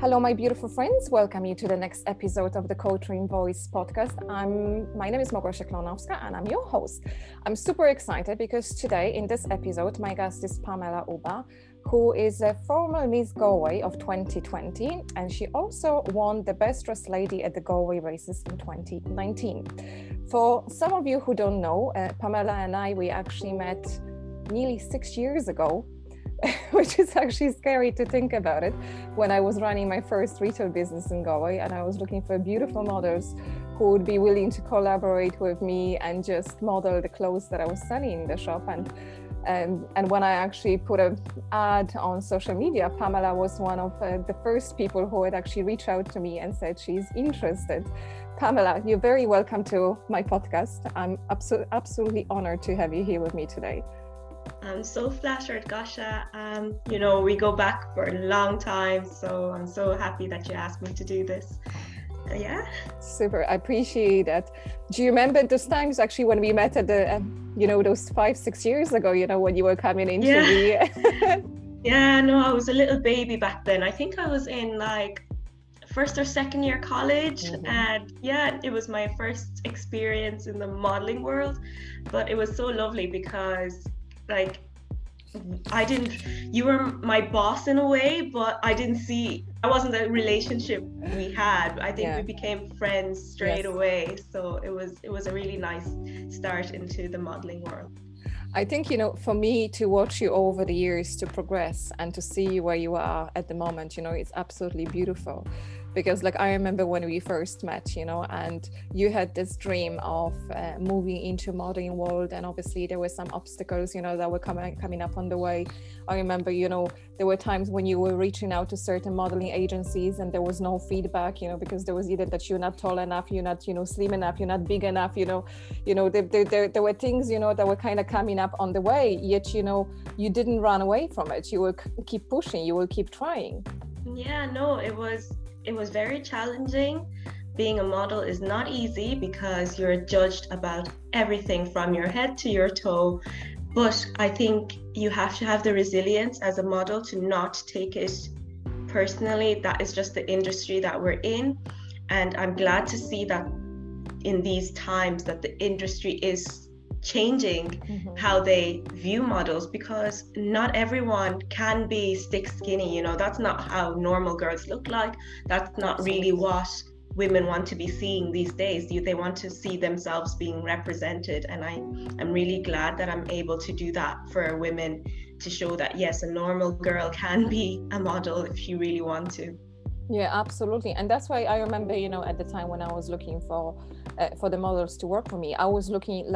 Hello, my beautiful friends. Welcome you to the next episode of the Coaching Voice podcast. My name is Małgosia Klonowska and I'm your host. I'm super excited because today in this episode, my guest is Pamela Uba, who is a former Miss Galway of 2020. And she also won the Best Dressed Lady at the Galway races in 2019. For some of you who don't know, Pamela and we actually met nearly 6 years ago, which is actually scary to think about it, when I was running my first retail business in Galway and I was looking for beautiful models who would be willing to collaborate with me and just model the clothes that I was selling in the shop. And when I actually put an ad on social media, Pamela was one of the first people who had actually reached out to me and said she's interested. Pamela, you're very welcome to my podcast. I'm absolutely honored to have you here with me today. I'm so flattered, Gosha. We go back for a long time, so I'm so happy that you asked me to do this. Yeah. Super, I appreciate that. Do you remember those times actually when we met at the, those 5-6 years ago, when you were coming into the... Yeah, no, I was a little baby back then. I think I was in first or second year college, and it was my first experience in the modeling world, but it was so lovely because you were my boss in a way, but I wasn't a relationship we had. I think we became friends straight away. So it was a really nice start into the modeling world. I think, for me to watch you over the years to progress and to see where you are at the moment, it's absolutely beautiful. Because I remember when we first met, and you had this dream of moving into modeling world, and obviously there were some obstacles, that were coming up on the way. I remember, there were times when you were reaching out to certain modeling agencies and there was no feedback, because there was either that you're not tall enough, you're not, slim enough, you're not big enough, there were things, that were kind of coming up on the way, yet, you didn't run away from it. You will keep pushing, you will keep trying. Yeah, no, it was very challenging. Being a model is not easy because you're judged about everything from your head to your toe. But I think you have to have the resilience as a model to not take it personally. That is just the industry that we're in. And I'm glad to see that in these times that the industry is changing how they view models, because not everyone can be stick skinny. That's not how normal girls look like. That's not really what women want to be seeing these days. They want to see themselves being represented, and I'm really glad that I'm able to do that for women, to show that yes, a normal girl can be a model if she really want to. Yeah, absolutely. And that's why I remember, at the time when I was looking for the models to work for me, I was looking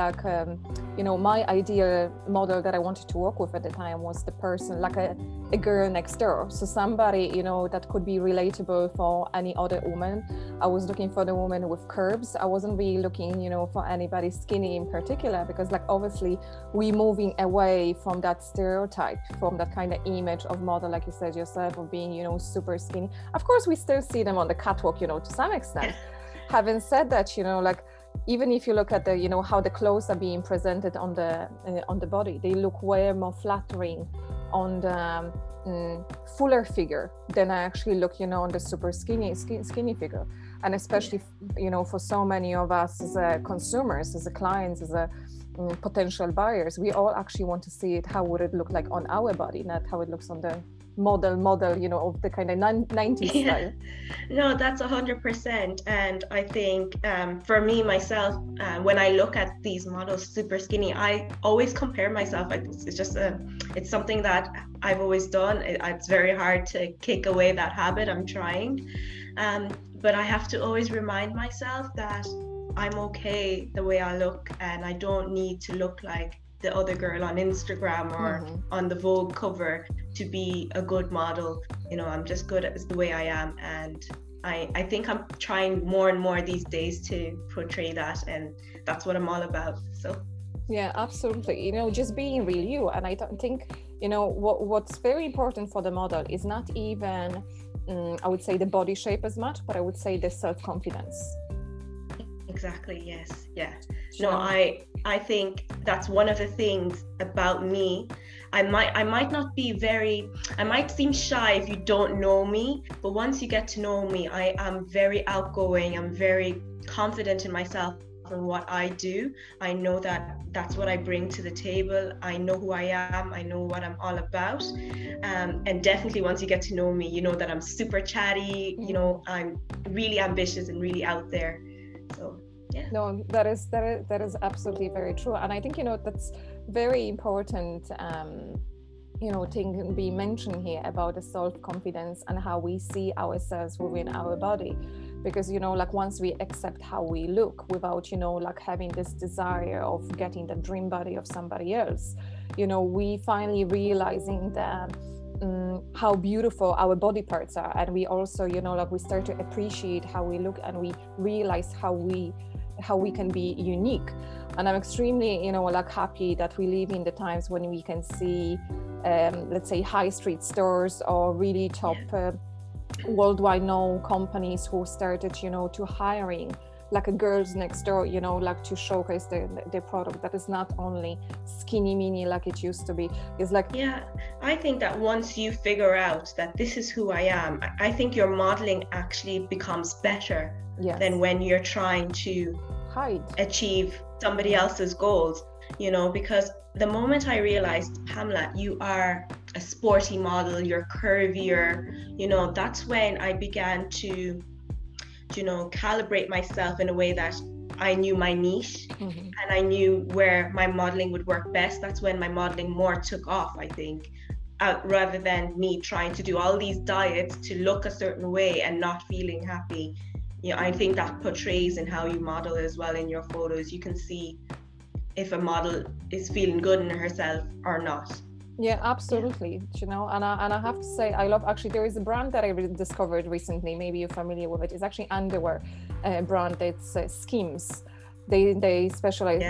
my ideal model that I wanted to work with at the time was the person, like a girl next door. So somebody, that could be relatable for any other woman. I was looking for the woman with curves. I wasn't really looking, for anybody skinny in particular, because obviously we're moving away from that stereotype, from that kind of image of model, like you said yourself, of being, super skinny. Of course, we still see them on the catwalk, to some extent. Having said that, even if you look at the, how the clothes are being presented on the body, they look way more flattering on the fuller figure than I actually look, on the super skinny figure. And especially, for so many of us as consumers, as clients, as potential buyers, we all actually want to see it. How would it look like on our body, not how it looks on the model, of the kind of 90s style. No, that's 100%. And I think for me, myself, when I look at these models super skinny, I always compare myself. It's something that I've always done. It's very hard to kick away that habit. I'm trying. But I have to always remind myself that I'm okay the way I look, and I don't need to look like the other girl on Instagram or on the Vogue cover to be a good model. I'm just good as the way I am, and I think I'm trying more and more these days to portray that, and that's what I'm all about. So yeah, absolutely. Just being real you. And I don't think what's very important for the model is not even I would say the body shape as much, but I would say the self-confidence. Exactly. Yes. Yeah. No, I think that's one of the things about me I might not be very, I might seem shy if you don't know me, but once you get to know me, I am very outgoing. I'm very confident in myself and what I do. I know that that's what I bring to the table. I know who I am. I know what I'm all about. And definitely once you get to know me, you know that I'm super chatty, you know, I'm really ambitious and really out there. So yeah. No, that is absolutely very true. And I think, you know, that's very important, you know, thing can be mentioned here about the self-confidence and how we see ourselves within our body. Because, you know, like once we accept how we look without, you know, like having this desire of getting the dream body of somebody else, you know, we finally realizing that how beautiful our body parts are. And we also, you know, like we start to appreciate how we look, and we realize how we can be unique. And I'm extremely, you know, like happy that we live in the times when we can see, let's say, high street stores or really top worldwide known companies who started, you know, to hiring like a girls next door, you know, like to showcase their product that is not only skinny mini like it used to be. It's like, yeah, I think that once you figure out that this is who I am, I think your modeling actually becomes better than when you're trying to achieve somebody else's goals, you know, because the moment I realized, Pamela, you are a sporty model, you're curvier, you know, that's when I began to, you know, calibrate myself in a way that I knew my niche and I knew where my modeling would work best. That's when my modeling more took off, I think, rather than me trying to do all these diets to look a certain way and not feeling happy. You know, I think that portrays in how you model as well in your photos. You can see if a model is feeling good in herself or not. Yeah, absolutely. You know, and I have to say, I love, actually, there is a brand that I discovered recently. Maybe you're familiar with it. It's actually underwear brand. It's Skims. They specialize.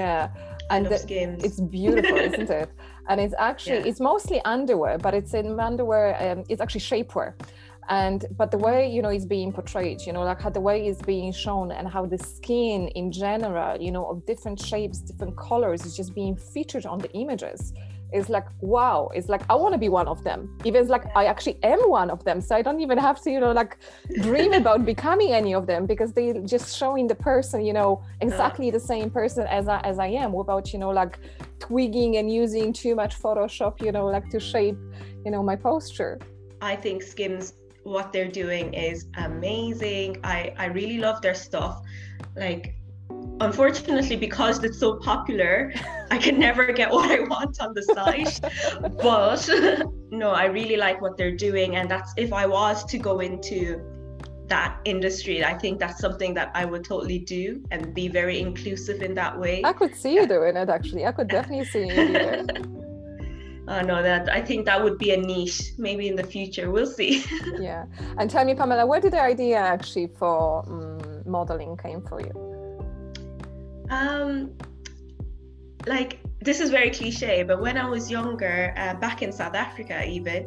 And Skims. It's beautiful, isn't it? And it's actually it's mostly underwear, but it's in underwear. It's actually shapewear. But the way, you know, it's being portrayed, you know, like how the way it's being shown and how the skin in general, you know, of different shapes, different colors is just being featured on the images. It's like, wow, it's like, I want to be one of them. Even like, I actually am one of them. So I don't even have to, you know, like dream about becoming any of them, because they just showing the person, you know, exactly the same person as I am, without, you know, like twigging and using too much Photoshop, you know, like to shape, you know, my posture. I think Skims, what they're doing is amazing. I really love their stuff. Like, unfortunately, because it's so popular, I can never get what I want on the site. But no, I really like what they're doing. And that's, if I was to go into that industry, I think that's something that I would totally do and be very inclusive in that way. I could see you doing it, actually. I could definitely see you do it. No, that I think that would be a niche maybe in the future. We'll see. Yeah. And tell me, Pamela, where did the idea actually for modeling came for you? Like, this is very cliche, but when I was younger, back in South Africa even,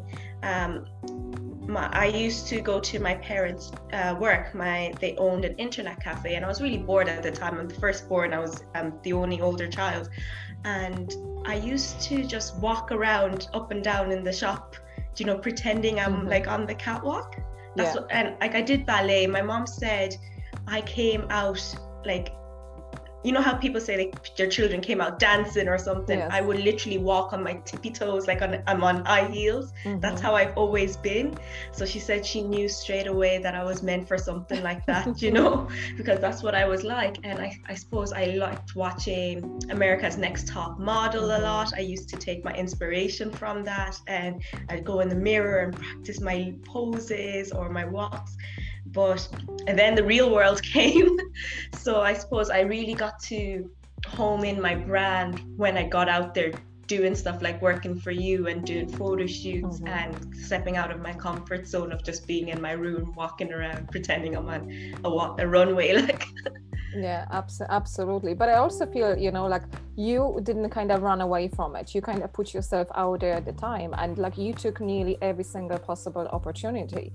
I used to go to my parents' work. They owned an internet cafe, and I was really bored at the time. I'm the firstborn. I was the only older child, and I used to just walk around up and down in the shop, you know, pretending I'm like on the catwalk. And like I did ballet. My mom said I came out like, you know how people say like their children came out dancing or something? Yes. I would literally walk on my tippy toes, like I'm on high heels. That's how I've always been. So she said she knew straight away that I was meant for something like that, you know, because that's what I was like. And I suppose I liked watching America's Next Top Model a lot. I used to take my inspiration from that, and I'd go in the mirror and practice my poses or my walks. And then the real world came. So I suppose I really got to home in my brand when I got out there doing stuff like working for you and doing photo shoots and stepping out of my comfort zone of just being in my room, walking around, pretending I'm on a runway. Like. Yeah, absolutely. But I also feel, you know, like you didn't kind of run away from it. You kind of put yourself out there at the time, and like you took nearly every single possible opportunity.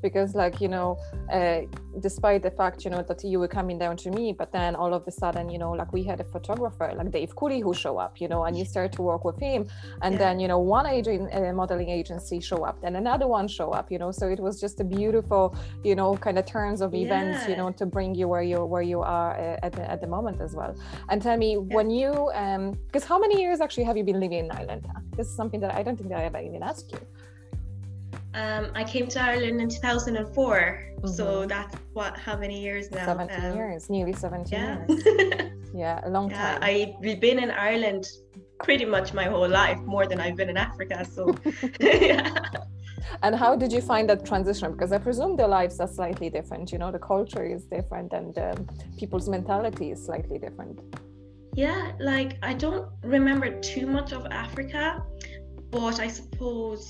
because like, you know, despite the fact, you know, that you were coming down to me, but then all of a sudden, you know, like we had a photographer like Dave Cooley who show up, you know, and you start to work with him, and then, you know, one modeling agency show up, then another one show up, you know, so it was just a beautiful, you know, kind of turns of events, you know, to bring you where you are at the moment as well. And tell me, when you because how many years actually have you been living in Ireland? This is something that I don't think that I ever even asked you. I came to Ireland in 2004, so that's how many years now? 17 years, nearly 17 years. Yeah, a long time. I've been in Ireland pretty much my whole life, more than I've been in Africa, so yeah. And how did you find that transition? Because I presume their lives are slightly different, you know, the culture is different, and people's mentality is slightly different. Yeah, like I don't remember too much of Africa, but I suppose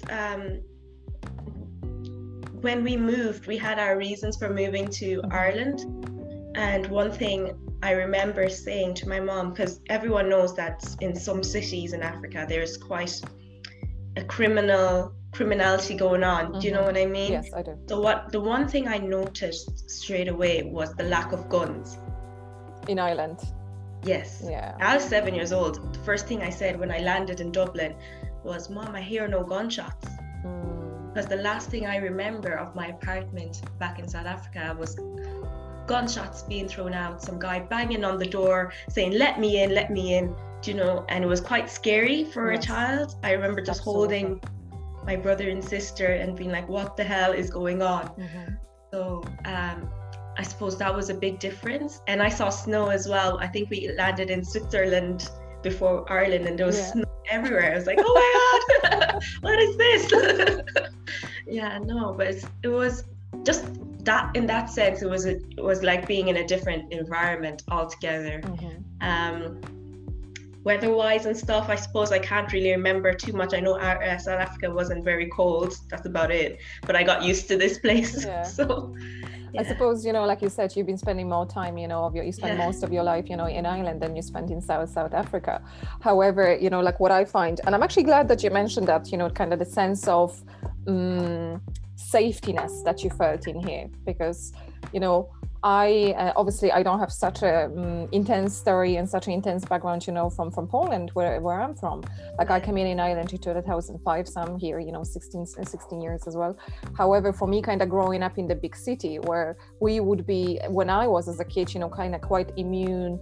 when we moved, we had our reasons for moving to Ireland. And one thing I remember saying to my mom, because everyone knows that in some cities in Africa, there's quite a criminality going on. Do you know what I mean? Yes, I do. So the one thing I noticed straight away was the lack of guns. In Ireland? Yes. Yeah. I was 7 years old. The first thing I said when I landed in Dublin was, "Mom, I hear no gunshots." Because the last thing I remember of my apartment back in South Africa was gunshots being thrown out, some guy banging on the door saying, let me in, do you know, and it was quite scary for a child. I remember just holding my brother and sister and being like, what the hell is going on? So I suppose that was a big difference. And I saw snow as well. I think we landed in Switzerland before Ireland, and there was snow everywhere. I was like, oh my God, what is this? Yeah, no, but it was just that, in that sense, it was like being in a different environment altogether. Weather-wise and stuff, I suppose I can't really remember too much. I know South Africa wasn't very cold, that's about it, but I got used to this place. So I suppose, you know, like you said, you've been spending more time, you know, you spend most of your life, you know, in Ireland than you spent in South Africa. However, you know, like what I find, and I'm actually glad that you mentioned that, you know, kind of the sense of safetiness that you felt in here, because, you know, obviously I don't have such a intense story and such an intense background, you know, from Poland, where I'm from. Like I came in Ireland in 2005, so I'm here, you know, 16 years as well. However, for me, kind of growing up in the big city, where we would be, when I was as a kid, you know, kind of quite immune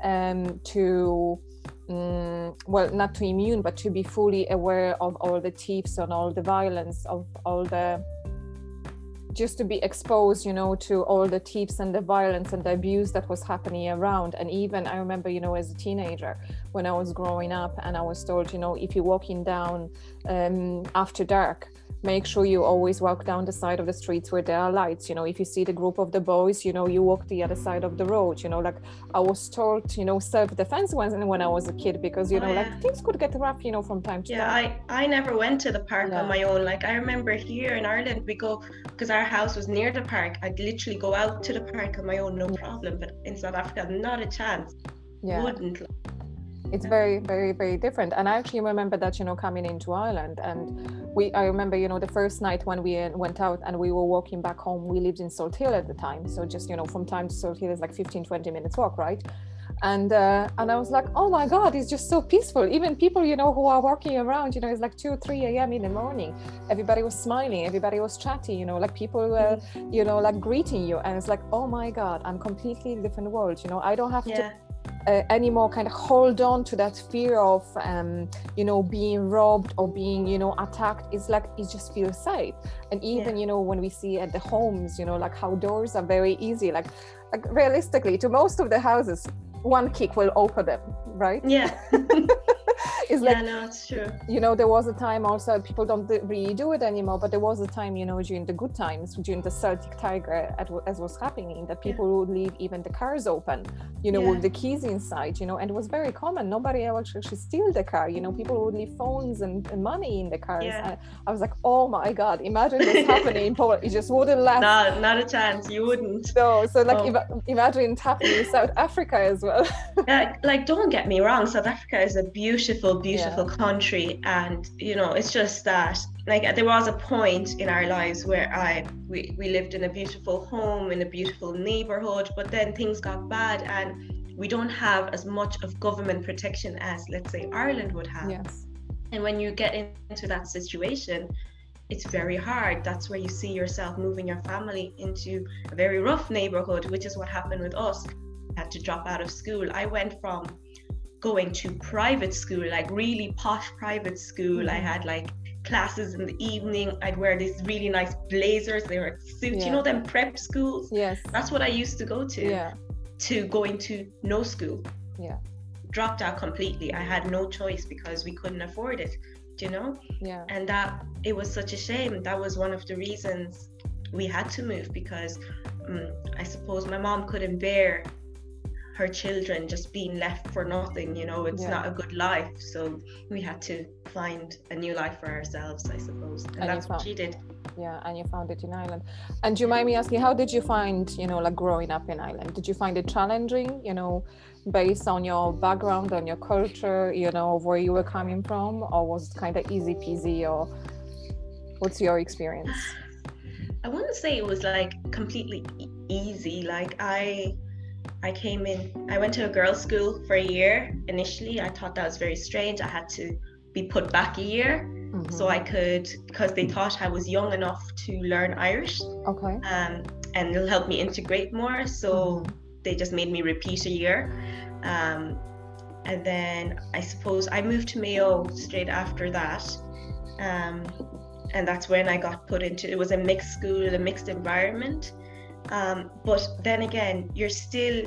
to well, not too immune, but to be fully aware of all the thieves and all the violence, of all the, just to be exposed, you know, to all the thieves and the violence and the abuse that was happening around. And even I remember, you know, as a teenager, when I was growing up and I was told, you know, if you're walking down after dark, make sure you always walk down the side of the streets where there are lights. You know, if you see the group of the boys, you know, you walk the other side of the road. You know, like I was taught, you know, self-defense when I was a kid, because, you know, like things could get rough, you know, from time to time. I never went to the park on my own. Like I remember here in Ireland, we go, because our house was near the park, I'd literally go out to the park on my own, no problem. But in South Africa, not a chance. Wouldn't. It's very, very, very different. And I actually remember that, you know, coming into Ireland, and I remember, you know, the first night when we went out and we were walking back home, we lived in Salt Hill at the time. So just, you know, from time to Salt Hill is like 15-20 minutes walk, right? And I was like, oh my God, it's just so peaceful. Even people, you know, who are walking around, you know, it's like 2 or 3 a.m. in the morning. Everybody was smiling, everybody was chatty, you know, like people were, you know, like greeting you. And it's like, oh my God, I'm completely in a different world. You know, I don't have to anymore kind of hold on to that fear of you know, being robbed or being, you know, attacked. It's like it just feels safe. And even you know, when we see at the homes, you know, like how doors are very easy, like realistically to most of the houses, one kick will open them, right? It's like, no, it's true. You know, there was a time also, people don't really do it anymore, but there was a time, you know, during the good times, during the Celtic Tiger, as was happening, that people would leave even the cars open, you know, with the keys inside, you know, and it was very common. Nobody else actually steal the car, you know, people would leave phones and money in the cars. I was like, oh my God, imagine this happening in Poland. It just wouldn't last. Not a chance, you wouldn't. No, so like imagine it happening in South Africa as well. Like, don't get me wrong, South Africa is a beautiful beautiful country. And, you know, it's just that, like, there was a point in our lives where we lived in a beautiful home, in a beautiful neighborhood, but then things got bad and we don't have as much of government protection as, let's say, Ireland would have. Yes. And when you get into that situation, it's very hard. That's where you see yourself moving your family into a very rough neighborhood, which is what happened with us. I had to drop out of school. I went from going to private school, like really posh private school. I had like classes in the evening. I'd wear these really nice blazers. They were suits, you know, them prep schools. Yes. That's what I used to go to. To going to no school. Dropped out completely. I had no choice because we couldn't afford it, you know. And that, it was such a shame. That was one of the reasons we had to move, because I suppose my mom couldn't bear her children just being left for nothing, you know. It's not a good life, so we had to find a new life for ourselves, I suppose. And that's what she did. And you found it in Ireland. And do you mind me asking, how did you find, you know, like growing up in Ireland? Did you find it challenging, you know, based on your background, on your culture, you know, where you were coming from, or was it kind of easy peasy, or what's your experience? I wouldn't say it was like completely easy. Like I came in, I went to a girls' school for a year initially. I thought that was very strange. I had to be put back a year. So I could, because they thought I was young enough to learn Irish. And it'll help me integrate more. So they just made me repeat a year. And then I suppose I moved to Mayo straight after that. And that's when I got put into, it was a mixed school, a mixed environment. But then again, you're still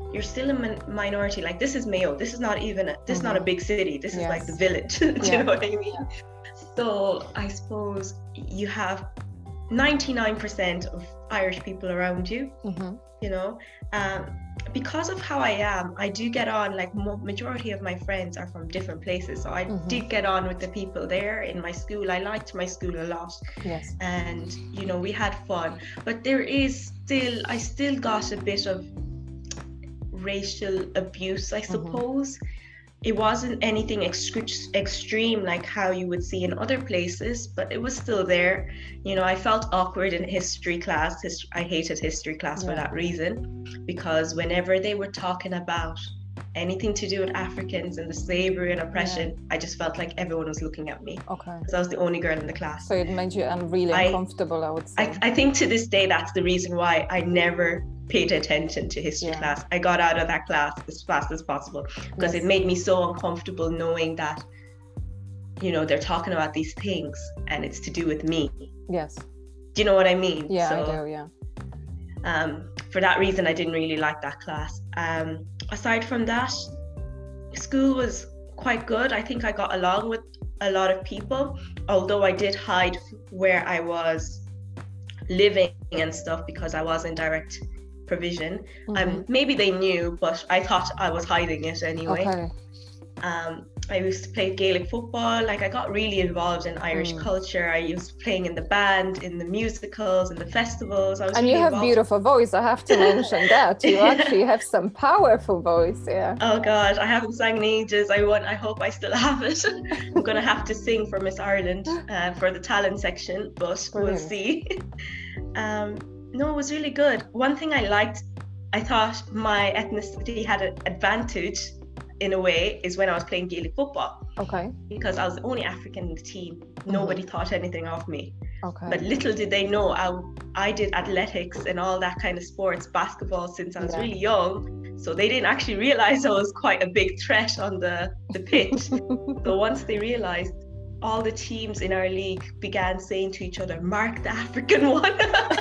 a minority. Like, this is Mayo. This is not even, this is not a big city. This is like the village. Do you know what I mean? So I suppose you have 99% of Irish people around you, you know. Because of how I am, I do get on, like majority of my friends are from different places. So I did get on with the people there in my school. I liked my school a lot. And, you know, we had fun. But there is still, I still got a bit of racial abuse, I suppose. It wasn't anything extreme like how you would see in other places, but it was still there. You know, I felt awkward in history class. I hated history class for that reason, because whenever they were talking about anything to do with Africans and the slavery and oppression, I just felt like everyone was looking at me. Because I was the only girl in the class. So it made you really uncomfortable, I would say. I think to this day, that's the reason why I never paid attention to history class. I got out of that class as fast as possible, because it made me so uncomfortable knowing that, you know, they're talking about these things and it's to do with me. Do you know what I mean? I do, for that reason, I didn't really like that class. Aside from that, school was quite good. I think I got along with a lot of people, although I did hide where I was living and stuff because I was in direct provision. Maybe they knew, but I thought I was hiding it anyway. I used to play Gaelic football. Like, I got really involved in Irish culture. I used playing in the band, in the musicals, in the festivals. And really you have beautiful voice. I have to mention that you actually have some powerful voice. Oh God, I haven't sang in ages. I hope I still have it. I'm gonna have to sing for Miss Ireland for the talent section, but we'll see. No, it was really good. One thing I liked, I thought my ethnicity had an advantage in a way, is when I was playing Gaelic football. Because I was the only African in the team. Nobody thought anything of me. But little did they know I did athletics and all that kind of sports, basketball, since I was really young. So they didn't actually realize I was quite a big threat on the pitch. So once they realized, all the teams in our league began saying to each other, "Mark the African one."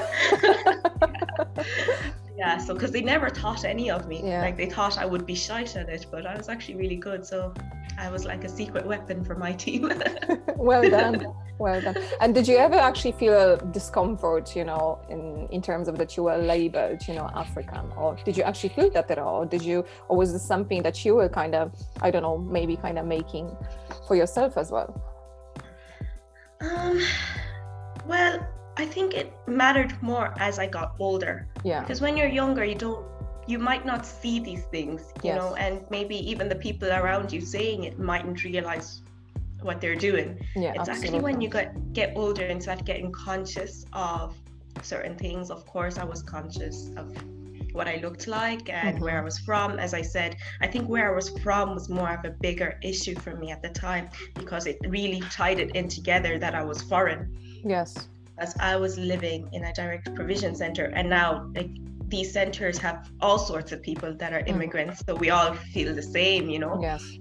So because they never thought any of me. Like, they thought I would be shite at it, but I was actually really good. So I was like a secret weapon for my team. Well done. And did you ever actually feel discomfort, you know, in terms of that you were labeled, you know, African, or did you actually feel that at all? Or was this something that you were kind of, I don't know, maybe kind of making for yourself as well? Well, I think it mattered more as I got older. Because when you're younger, you don't you might not see these things, you Yes. know, and maybe even the people around you saying it mightn't realize what they're doing. Yeah, It's actually absolutely. when you get older and start getting conscious of certain things. Of course, I was conscious of what I looked like and where I was from. As I said, I think where I was from was more of a bigger issue for me at the time, because it really tied it in together that I was foreign. Yes. As I was living in a direct provision center, and now like these centers have all sorts of people that are immigrants, so we all feel the same, you know. Yes.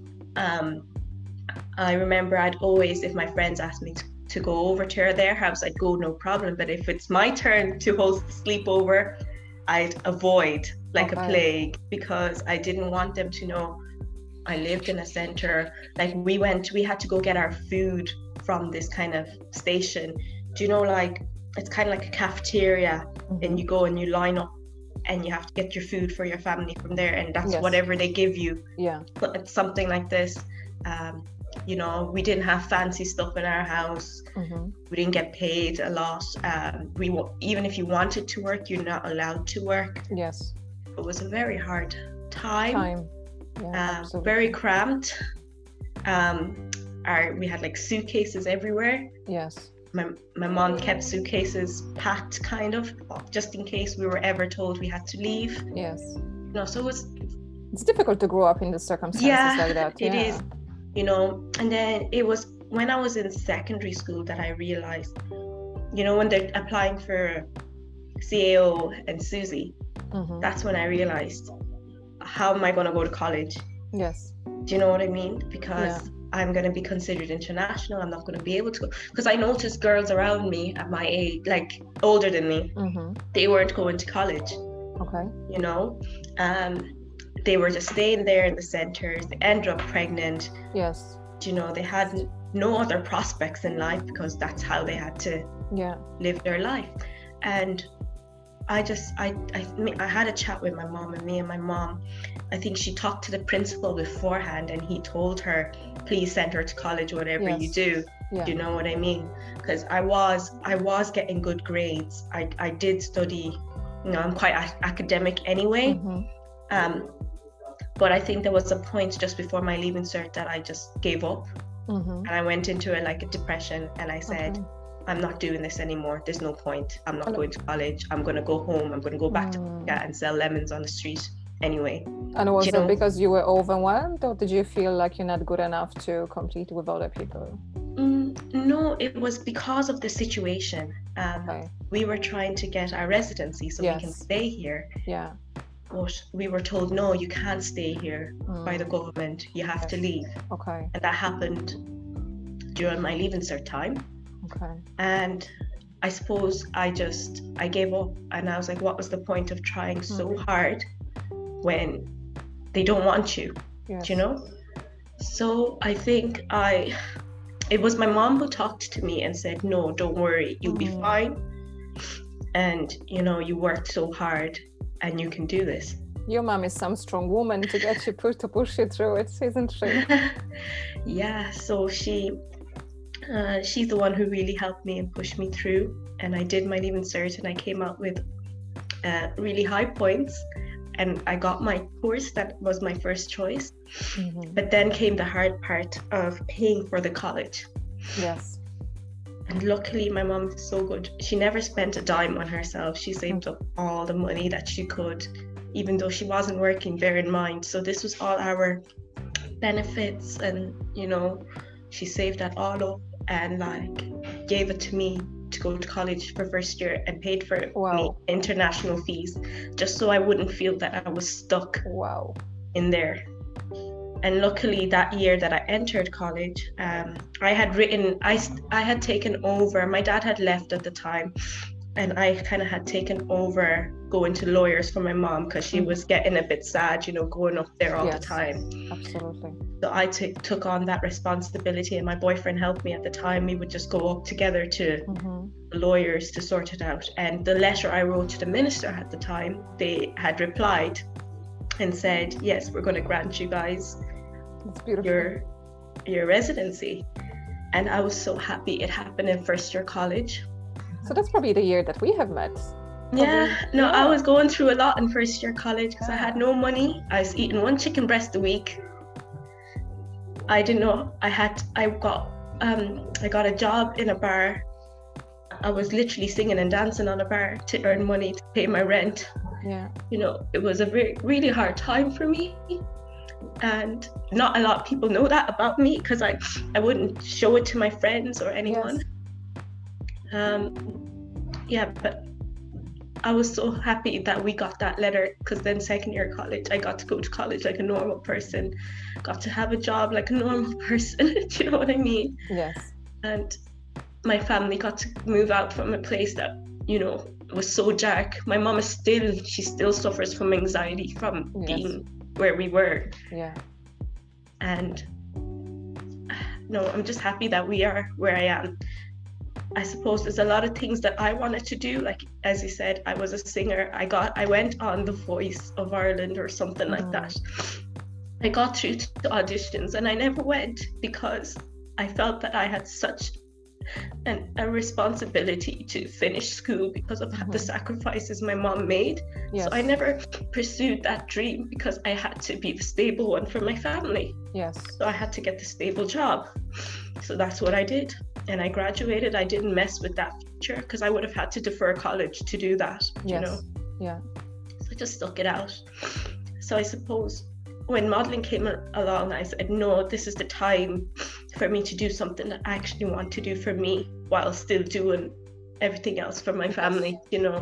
I remember I'd always, if my friends asked me to go over to their house, I'd go, no problem. But if it's my turn to host the sleepover, I'd avoid like a plague, because I didn't want them to know I lived in a center. Like we had to go get our food from this kind of station. Do you know, like it's kind of like a cafeteria, and you go and you line up and you have to get your food for your family from there, and that's whatever they give you. Yeah. But it's something like this. You know, we didn't have fancy stuff in our house. We didn't get paid a lot. Even if you wanted to work, you're not allowed to work. Yes. It was a very hard time. Yeah, very cramped. We had like suitcases everywhere. Yes. My mom kept suitcases packed, kind of, just in case we were ever told we had to leave. Yes. You know, so it's difficult to grow up in the circumstances like that. It is. You know, and then it was when I was in secondary school that I realized, you know, when they're applying for CAO and Susie, that's when I realized, how am I going to go to college? Yes. Do you know what I mean? Because I'm going to be considered international. I'm not going to be able to go. Because I noticed girls around me at my age, like older than me, they weren't going to college. Okay. You know, they were just staying there in the centers. They ended up pregnant. Yes. You know, they had no other prospects in life, because that's how they had to live their life. And I had a chat with my mom, and me and my mom, I think she talked to the principal beforehand, and he told her, please send her to college, whatever you do. You know what I mean? Because I was getting good grades. I did study, you know, I'm quite academic anyway. But I think there was a point just before my leaving cert that I just gave up, and I went into a depression, and I said, I'm not doing this anymore. There's no point. I'm not going to college. I'm going to go home. I'm going to go back to Africa and sell lemons on the street anyway. And was it because you were overwhelmed, or did you feel like you're not good enough to compete with other people? No, it was because of the situation. We were trying to get our residency so we can stay here. Yeah. But we were told, no, you can't stay here by the government. You have to leave. Okay. And that happened during my leaving cert time. Okay. And I suppose I gave up, and I was like, what was the point of trying so hard when they don't want you? Yes. You know? So I think it was my mom who talked to me and said, no, don't worry, you'll be fine. And, you know, you worked so hard and you can do this. Your mom is some strong woman to get you to push you through it, isn't she? Yeah, so she's the one who really helped me and pushed me through. And I did my leaving cert, and I came out with really high points, and I got my course that was my first choice. But then came the hard part of paying for the college. Yes. And luckily my mom is so good. She never spent a dime on herself. She saved up all the money that she could, even though she wasn't working, bear in mind. So this was all our benefits, and, you know, she saved that all up and gave it to me to go to college for first year, and paid for me international fees, just so I wouldn't feel that I was stuck in there. And luckily that year that I entered college, I had taken over. My dad had left at the time, and I kind of had taken over going to lawyers for my mom, because she was getting a bit sad, you know, going up there all the time. Absolutely. So I took on that responsibility, and my boyfriend helped me at the time. We would just go up together to lawyers to sort it out. And the letter I wrote to the minister at the time, they had replied and said, yes, we're going to grant you guys your residency. And I was so happy. It happened in first year college. So that's probably the year that we have met. I was going through a lot in first year college because I had no money. I was eating one chicken breast a week. I didn't know I got a job in a bar. I was literally singing and dancing on a bar to earn money to pay my rent. Yeah. It was a really hard time for me. And not a lot of people know that about me because I wouldn't show it to my friends or anyone. Yes. But I was so happy that we got that letter, because then second year college, I got to go to college like a normal person, got to have a job like a normal person. Do you know what I mean? Yes. And my family got to move out from a place that, was so dark. My mom she still suffers from anxiety from being where we were. Yeah. And no, I'm just happy that we are where I am. I suppose there's a lot of things that I wanted to do. Like, as you said, I was a singer. I went on The Voice of Ireland or something like that. I got through to auditions and I never went because I felt that I had such a responsibility to finish school because of the sacrifices my mom made. Yes. So I never pursued that dream because I had to be the stable one for my family. Yes. So I had to get the stable job. So that's what I did. And I graduated. I didn't mess with that future because I would have had to defer college to do that, Yeah. So I just stuck it out. So I suppose when modeling came along, I said, no, this is the time for me to do something that I actually want to do for me while still doing everything else for my family,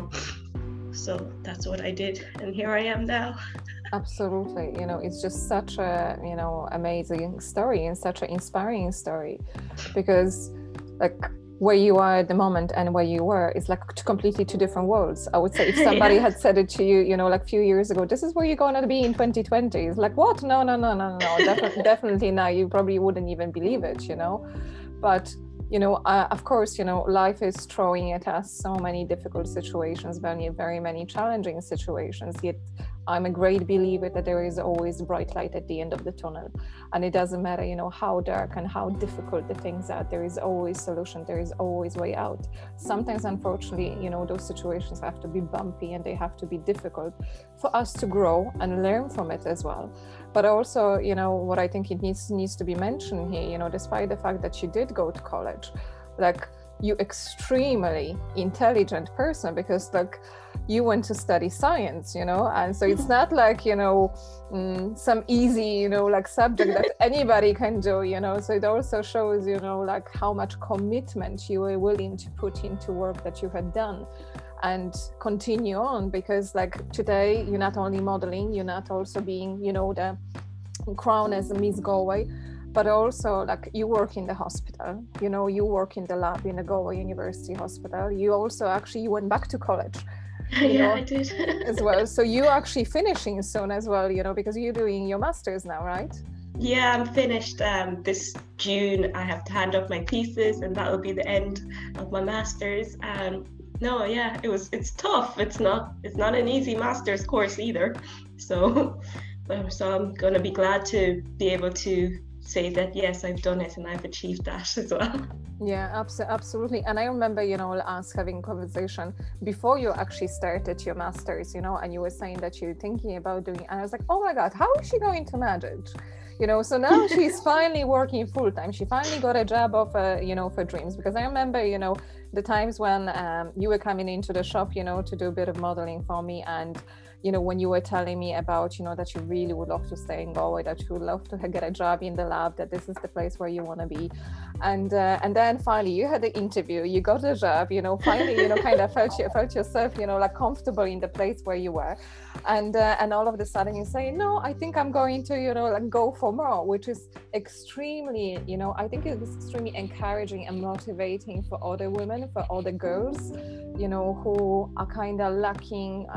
So that's what I did. And here I am now. Absolutely. It's just such a, amazing story and such an inspiring story, because like where you are at the moment and where you were is like completely two different worlds. I would say if somebody had said it to you, like a few years ago, this is where you're going to be in 2020. It's like, what? No. Definitely now. You probably wouldn't even believe it, But, of course, life is throwing at us so many difficult situations, very, very many challenging situations. Yet I'm a great believer that there is always a bright light at the end of the tunnel. And it doesn't matter, how dark and how difficult the things are, there is always solution, there is always way out. Sometimes, unfortunately, those situations have to be bumpy and they have to be difficult for us to grow and learn from it as well. But also, what I think it needs to be mentioned here, despite the fact that you did go to college, like, you extremely intelligent person, because like you went to study science, and so it's not like, some easy, like subject that anybody can do, so it also shows, like how much commitment you were willing to put into work that you had done and continue on, because like today you're not only modeling, you're not also being, the crown as a Miss Galway, but also like you work in the hospital, you work in the lab in the Galway University Hospital. You also you went back to college. I did. As well. So you actually finishing soon as well, because you're doing your master's now, right? Yeah, I'm finished this June. I have to hand up my thesis and that will be the end of my master's. It's tough. It's not an easy master's course either. So I'm gonna be glad to be able to say that yes, I've done it and I've achieved that as well. Yeah, absolutely. And I remember, us having a conversation before you actually started your master's, and you were saying that you're thinking about doing it. And I was like, oh my God, how is she going to manage? So now she's finally working full time. She finally got a job of, for dreams. Because I remember, the times when you were coming into the shop, to do a bit of modeling for me. And when you were telling me about, that you really would love to stay in Galway, that you would love to get a job in the lab, that this is the place where you want to be. And then finally you had the interview, you got a job, finally, kind of felt yourself, like comfortable in the place where you were. And all of a sudden you say, no, I think I'm going to, like go for more, which is extremely, I think it was extremely encouraging and motivating for other women, for other girls, who are kind of lacking,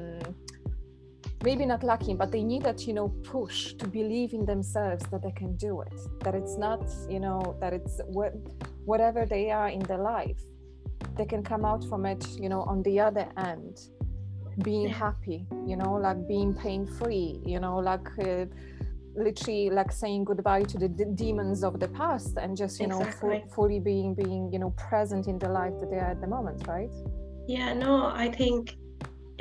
maybe not lacking, but they need that, push to believe in themselves that they can do it, that it's not, that it's whatever they are in their life, they can come out from it, on the other end, being happy, like being pain-free, like literally like saying goodbye to the demons of the past and just, fully being, present in the life that they are at the moment, right? Yeah, no, I think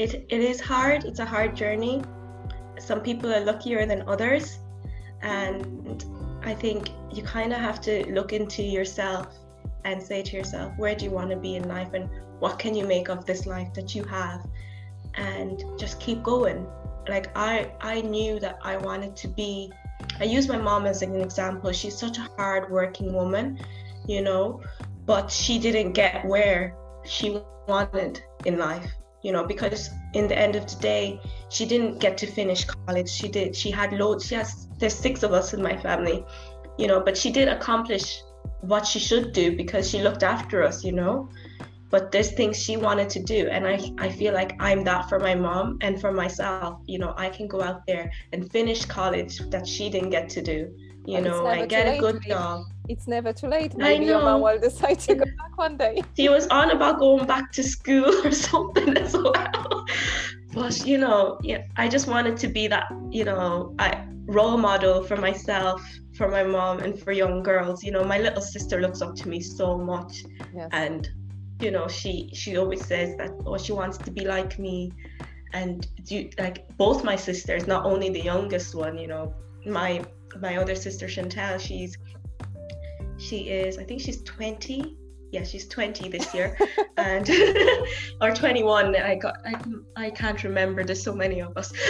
it is hard. It's a hard journey. Some people are luckier than others, and I think you kind of have to look into yourself and say to yourself, where do you want to be in life, and what can you make of this life that you have, and just keep going. Like I knew that I wanted to be, I use my mom as an example. She's such a hard-working woman, you know, but she didn't get where she wanted in life, you know, because in the end of the day, she didn't get to finish college. She had loads, there's 6 of us in my family, you know, but she did accomplish what she should do because she looked after us, you know. But there's things she wanted to do, and I feel like I'm that for my mom and for myself. You know, I can go out there and finish college that she didn't get to do, you know, and get a good job. It's never too late. Maybe your mom will decide to go back one day. She was on about going back to school or something as well. But, you know, yeah, I just wanted to be that, you know, role model for myself, for my mom, and for young girls. You know, my little sister looks up to me so much. Yes. And you know, she always says that, oh, she wants to be like me. And like both my sisters, not only the youngest one, you know, my other sister Chantal, she is, I think she's 20. Yeah, she's 20 this year. And or 21. I can't remember, there's so many of us.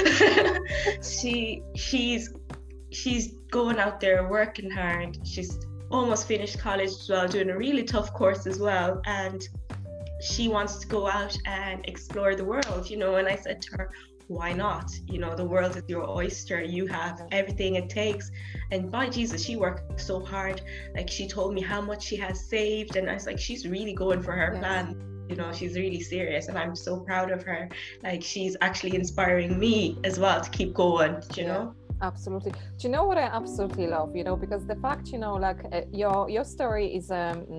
she's going out there working hard. She's almost finished college as well, doing a really tough course as well, and she wants to go out and explore the world, you know. And I said to her, why not? You know, the world is your oyster. You have everything it takes. And by Jesus, she worked so hard. Like, she told me how much she has saved, and I was like, she's really going for her plan. You know, she's really serious, and I'm so proud of her. Like, she's actually inspiring me as well to keep going, you know. Absolutely. Do you know what I absolutely love, you know, because the fact, you know, like your story is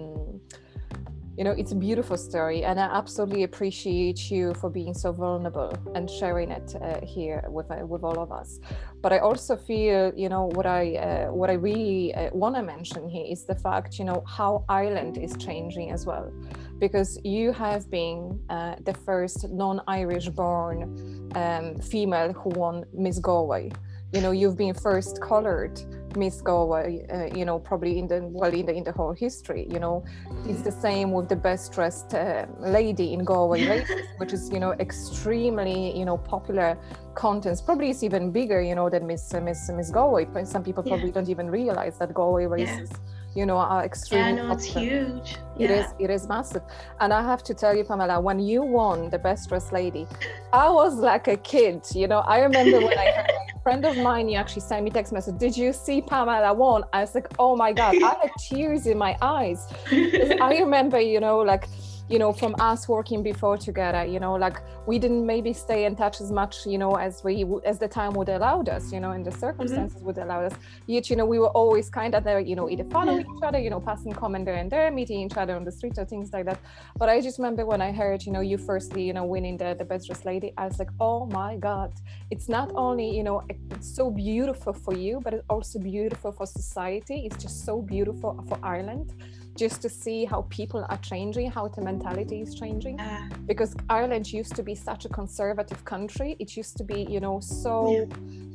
you know, it's a beautiful story, and I absolutely appreciate you for being so vulnerable and sharing it here with all of us. But I also feel, you know, what I really want to mention here is the fact, you know, how Ireland is changing as well, because you have been the first non-Irish born female who won Miss Galway. You know, you've been first colored Miss Galway, you know, probably in the whole history. You know, it's the same with the best dressed lady in Galway races, which is, you know, extremely, you know, popular contest. Probably it's even bigger, you know, than Miss Galway. Some people probably don't even realize that Galway races, you know, are extremely popular. It's huge. It is massive. And I have to tell you, Pamela, when you won the best dressed lady, I was like a kid, you know. I remember when I heard a friend of mine, you actually sent me text message, did you see Pamela won? I was like, oh my God, I had tears in my eyes. I remember, you know, like, you know, from us working before together, you know, like we didn't maybe stay in touch as much, you know, as the time would allow us, you know, and the circumstances would allow us. Yet, you know, we were always kind of there, you know, either following each other, you know, passing comment there and there, meeting each other on the street or things like that. But I just remember when I heard, you know, you firstly, you know, winning the best dressed lady, I was like, oh my God, it's not only, you know, it's so beautiful for you, but it's also beautiful for society. It's just so beautiful for Ireland, just to see how people are changing, how the mentality is changing. Because Ireland used to be such a conservative country. It used to be, you know, so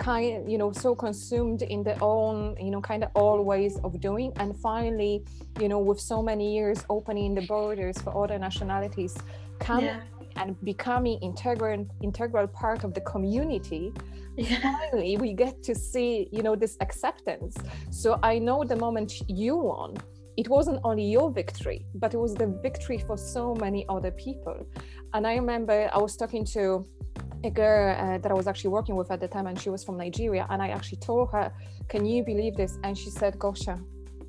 so consumed in their own, you know, kind of old ways of doing. And finally, you know, with so many years opening the borders for other nationalities, coming and becoming integral part of the community, finally we get to see, you know, this acceptance. So I know the moment you won, it wasn't only your victory, but it was the victory for so many other people. And I remember I was talking to a girl that I was actually working with at the time, and she was from Nigeria. And I actually told her, can you believe this? And she said, Gosha,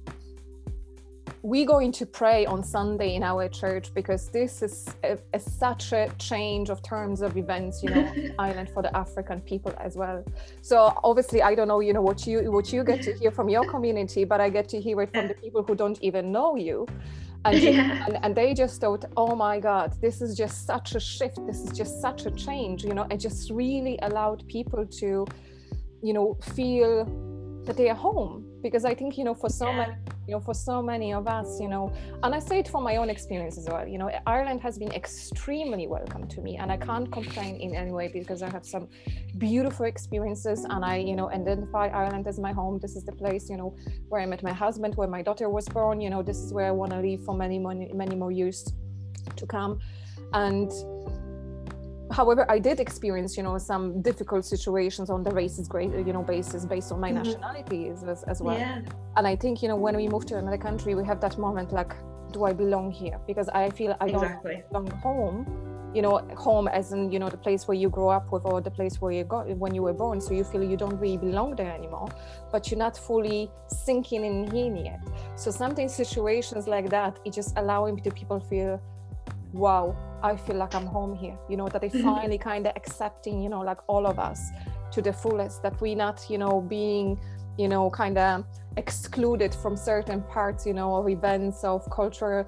we're going to pray on Sunday in our church, because this is such a change of terms of events, you know, Ireland for the African people as well. So obviously, I don't know, you know, what you get to hear from your community, but I get to hear it from the people who don't even know you. And they just thought, oh my God, this is just such a shift. This is just such a change, you know. It just really allowed people to, you know, feel that they are home. Because I think, you know, for so many you know, for so many of us, you know, and I say it from my own experience as well, you know, Ireland has been extremely welcome to me, and I can't complain in any way because I have some beautiful experiences, and I, you know, identify Ireland as my home. This is the place, you know, where I met my husband, where my daughter was born, you know, this is where I want to live for many more years to come. And however, I did experience, you know, some difficult situations on the racist, you know, basis based on my nationality as well. Yeah. And I think, you know, when we move to another country, we have that moment like, do I belong here? Because I feel I don't belong home, you know, home as in, you know, the place where you grew up with, or the place where you got when you were born. So you feel you don't really belong there anymore, but you're not fully sinking in yet. So sometimes situations like that, it just allowing the people feel, wow, I feel like I'm home here, you know, that they finally kind of accepting, you know, like all of us to the fullest, that we're not, you know, being, you know, kind of excluded from certain parts, you know, of events, of culture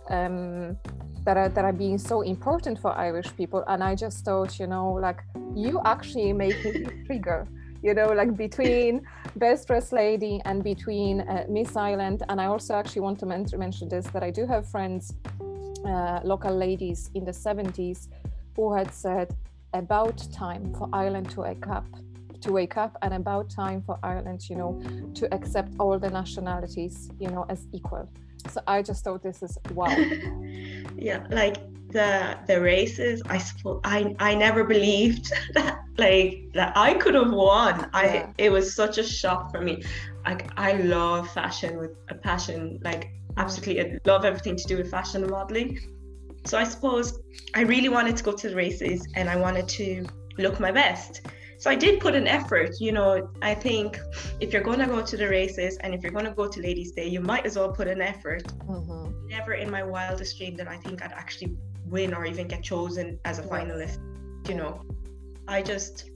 that are being so important for Irish people. And I just thought, you know, like, you actually make me trigger, you know, like between Best Dressed Lady and between Miss Ireland. And I also actually want to mention this, that I do have friends, local ladies in the 70s, who had said, about time for Ireland to wake up, and about time for Ireland, you know, to accept all the nationalities, you know, as equal. So I just thought this is wow. Yeah, like the races, I suppose I never believed that, like, that I could have won. It was such a shock for me. Like, I love fashion with a passion, like, absolutely. I love everything to do with fashion and modeling. So I suppose I really wanted to go to the races, and I wanted to look my best. So I did put an effort, you know. I think if you're going to go to the races, and if you're going to go to Ladies' Day, you might as well put an effort. Never in my wildest dream did I think I'd actually win or even get chosen as a finalist, you know. I just,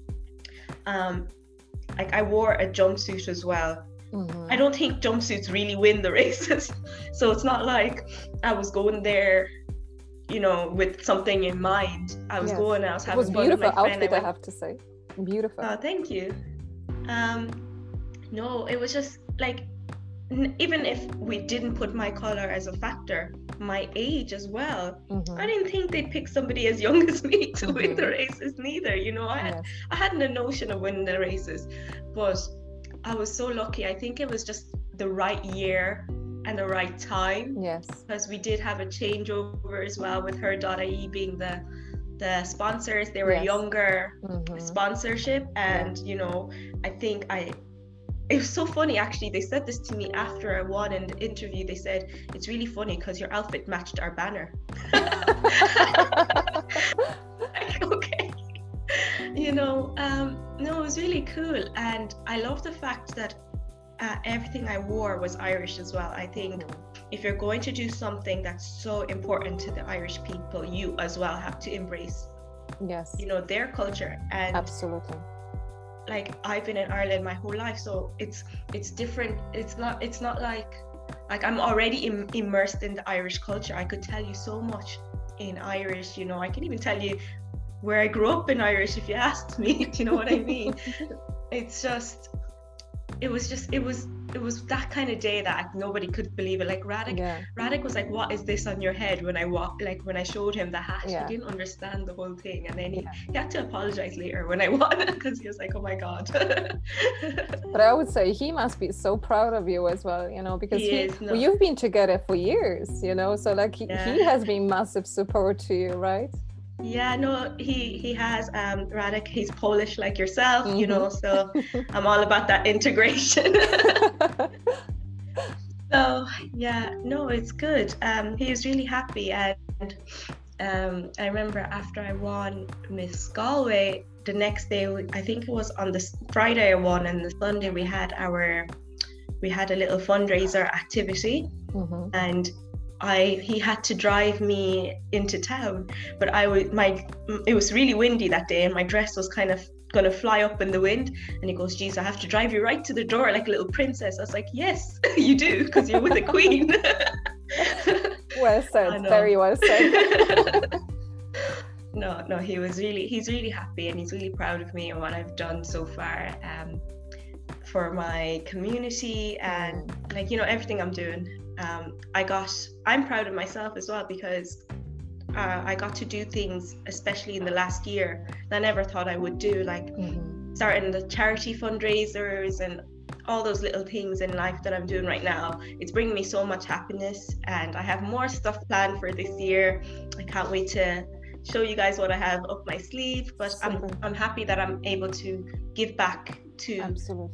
like, I wore a jumpsuit as well. I don't think jumpsuits really win the races. So it's not like I was going there, you know, with something in mind. I was going, I was having fun with my friend. It was beautiful outfit, I have to say. Beautiful. Oh, thank you. No, it was just like, even if we didn't put my color as a factor, my age as well. I didn't think they'd pick somebody as young as me to win the races neither. You know, I hadn't a notion of winning the races, but I was so lucky. I think it was just the right year and the right time. Yes. Because we did have a changeover as well with her.ie being the sponsors. They were younger sponsorship, and you know, I think it was so funny actually. They said this to me after I won in the interview. They said, it's really funny because your outfit matched our banner. Like, okay. You know, no, it was really cool. And I love the fact that everything I wore was Irish as well. I think if you're going to do something that's so important to the Irish people, you as well have to embrace, you know, their culture. And absolutely, like, I've been in Ireland my whole life, so it's different. It's not like I'm already immersed in the Irish culture. I could tell you so much in Irish, you know. I can even tell you where I grew up in Irish if you asked me. Do you know what I mean? It's just, it was that kind of day that nobody could believe it. Like, Radek was like, what is this on your head? When I showed him the hat, he didn't understand the whole thing, and then he had to apologize later when I won, because he was like, oh my god. But I would say he must be so proud of you as well, you know, because you've been together for years, you know, so like he has been massive support to you, right? Yeah, no, he has, Radek, he's Polish like yourself, you know, so I'm all about that integration. So yeah, no, it's good. He was really happy, and I remember after I won Miss Galway, the next day, I think it was on the Friday I won, and the Sunday we had a little fundraiser activity, and he had to drive me into town, but it was really windy that day, and my dress was kind of gonna fly up in the wind, and he goes, geez, I have to drive you right to the door like a little princess. I was like, yes, you do, because you're with the queen. Well said, very well said. No, he's really happy, and he's really proud of me and what I've done so far. for my community, and like, you know, everything I'm doing. I'm proud of myself as well, because I got to do things, especially in the last year, that I never thought I would do, like starting the charity fundraisers and all those little things in life that I'm doing right now. It's bringing me so much happiness, and I have more stuff planned for this year. I can't wait to show you guys what I have up my sleeve, but I'm happy that I'm able to give back to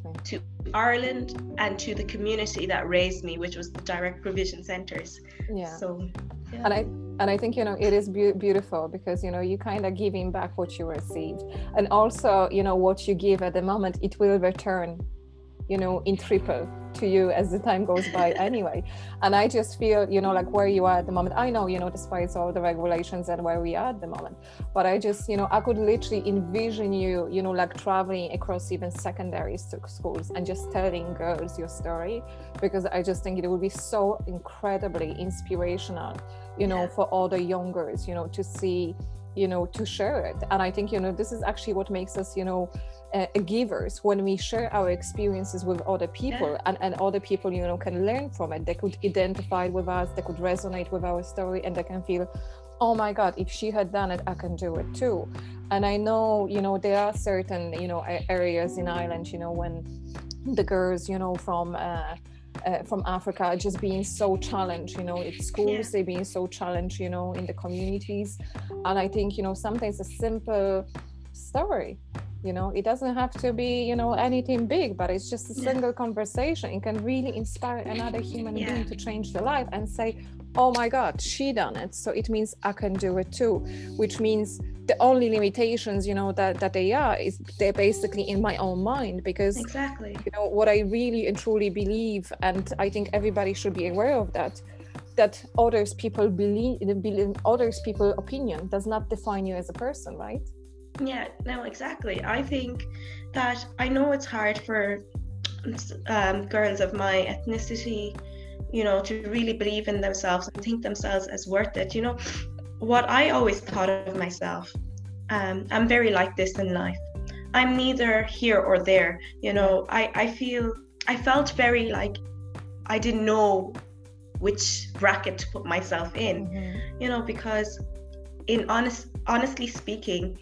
Ireland and to the community that raised me, which was the direct provision centers. So and I think, you know, it is beautiful, because, you know, you kind of giving back what you received, and also, you know, what you give at the moment, it will return, you know, in triple to you as the time goes by anyway. And I just feel, you know, like where you are at the moment, I know, you know, despite all the regulations and where we are at the moment, but I just, you know, I could literally envision you, you know, like traveling across even secondary schools and just telling girls your story, because I just think it would be so incredibly inspirational, you know, for all the young girls, you know, to see, you know, to share it. And I think, you know, this is actually what makes us, you know, givers, when we share our experiences with other people, and other people, you know, can learn from it. They could identify with us, they could resonate with our story, and they can feel, oh my God, if she had done it, I can do it too. And I know, you know, there are certain, you know, areas in Ireland, you know, when the girls, you know, from Africa are just being so challenged, you know, at schools, they're being so challenged, you know, in the communities. And I think, you know, sometimes a simple story, you know, it doesn't have to be, you know, anything big, but it's just a single conversation. It can really inspire another human being to change their life and say, oh my God, she done it, so it means I can do it too. Which means the only limitations, you know, that they are, is they're basically in my own mind, because you know, what I really and truly believe, and I think everybody should be aware of that others people others people opinion does not define you as a person, right? Yeah, no, exactly. I think that, I know it's hard for girls of my ethnicity, you know, to really believe in themselves and think themselves as worth it. You know, what I always thought of myself, I'm very like this in life. I'm neither here or there. You know, I felt very like I didn't know which bracket to put myself in, you know, because honestly speaking,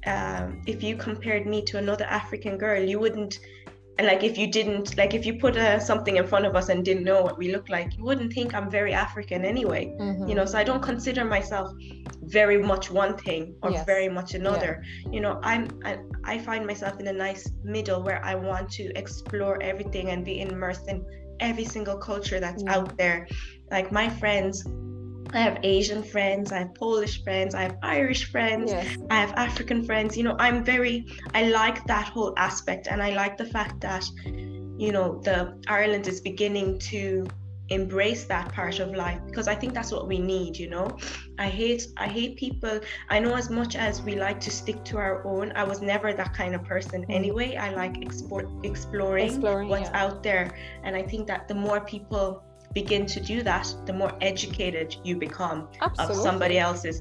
if you compared me to another African girl, you wouldn't, and like if you put something in front of us and didn't know what we look like, you wouldn't think I'm very African anyway. You know, so I don't consider myself very much one thing or very much another. You know, I find myself in a nice middle where I want to explore everything and be immersed in every single culture that's out there. Like my friends, I have Asian friends, I have Polish friends, I have Irish friends, I have African friends. You know, I like that whole aspect, and I like the fact that, you know, Ireland is beginning to embrace that part of life, because I think that's what we need. You know, I hate people. I know, as much as we like to stick to our own, I was never that kind of person anyway. I like exploring what's out there, and I think that the more people begin to do that, the more educated you become of somebody else's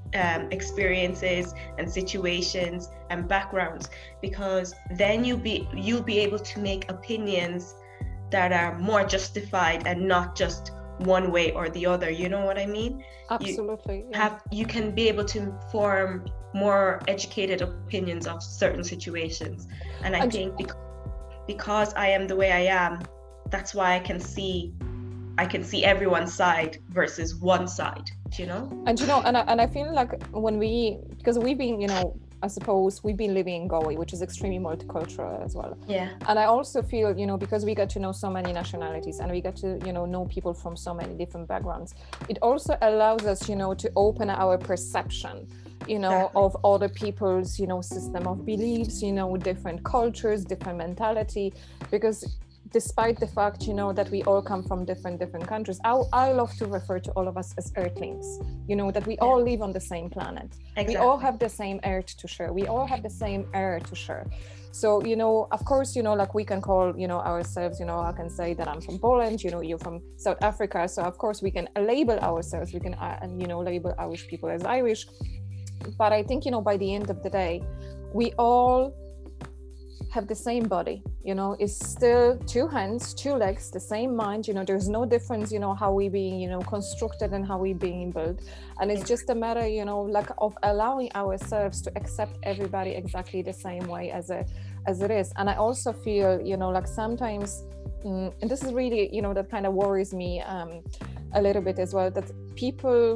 experiences and situations and backgrounds, because then you'll be able to make opinions that are more justified and not just one way or the other. You know what I mean? Absolutely. You can be able to form more educated opinions of certain situations, and I think because I am the way I am, that's why I can see everyone's side versus one side, you know? And you know, and I feel like because we've been, you know, I suppose we've been living in Galway, which is extremely multicultural as well. And I also feel, you know, because we get to know so many nationalities and we get to, you know people from so many different backgrounds, it also allows us, you know, to open our perception, you know, of other people's, you know, system of beliefs, you know, different cultures, different mentality, because despite the fact, you know, that we all come from different countries, I love to refer to all of us as earthlings, you know, that we all live on the same planet. We all have the same earth to share. We all have the same air to share. So, you know, of course, you know, like we can call, you know, ourselves, you know, I can say that I'm from Poland, you know, you're from South Africa. So of course we can label ourselves, we can, you know, label Irish people as Irish. But I think, you know, by the end of the day, we all have the same body, you know, it's still two hands, two legs, the same mind, you know, there's no difference, you know, how we being, you know, constructed and how we being built. And it's just a matter, you know, like of allowing ourselves to accept everybody exactly the same way as it is. And I also feel, you know, like sometimes, and this is really, you know, that kind of worries me a little bit as well, that people,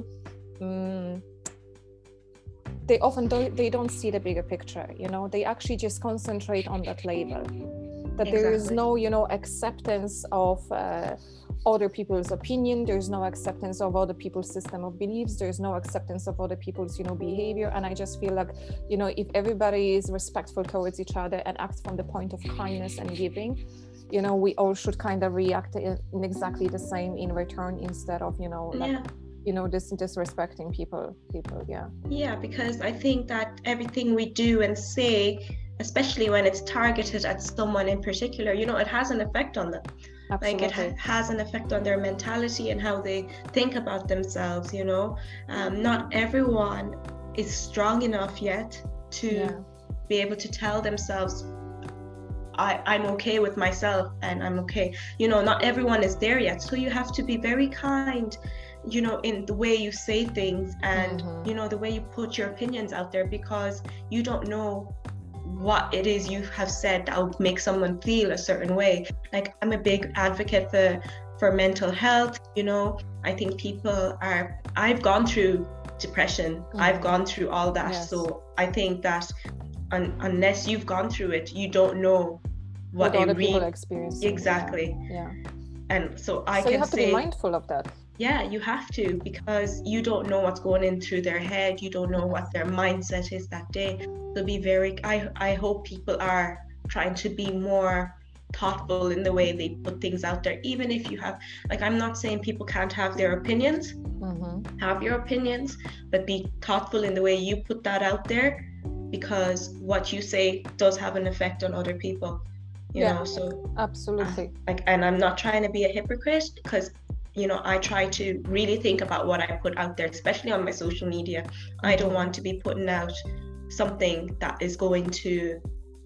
they often don't see the bigger picture, you know, they actually just concentrate on that label, that there is no, you know, acceptance of other people's opinion, there's no acceptance of other people's system of beliefs, there's no acceptance of other people's, you know, behavior. And I just feel like, you know, if everybody is respectful towards each other and acts from the point of kindness and giving, you know, we all should kind of react in exactly the same in return, instead of, you know, like, you know, disrespecting people. Yeah, because I think that everything we do and say, especially when it's targeted at someone in particular, you know, it has an effect on them. Absolutely. Like it has an effect on their mentality and how they think about themselves, you know. Not everyone is strong enough yet to be able to tell themselves, I'm okay with myself and I'm okay. You know, not everyone is there yet. So you have to be very kind, you know, in the way you say things and, you know, the way you put your opinions out there, because you don't know what it is you have said that will make someone feel a certain way. Like, I'm a big advocate for mental health, you know. I think I've gone through depression, I've gone through all that. So I think that unless you've gone through it, you don't know what other people experience. Exactly. Yeah. And so you have to be mindful of that. Yeah, you have to, because you don't know what's going in through their head. You don't know what their mindset is that day. So I hope people are trying to be more thoughtful in the way they put things out there. Even if you have, like, I'm not saying people can't have their opinions, have your opinions, but be thoughtful in the way you put that out there, because what you say does have an effect on other people, you know. So absolutely. And I'm not trying to be a hypocrite, because, you know, I try to really think about what I put out there, especially on my social media. I don't want to be putting out something that is going to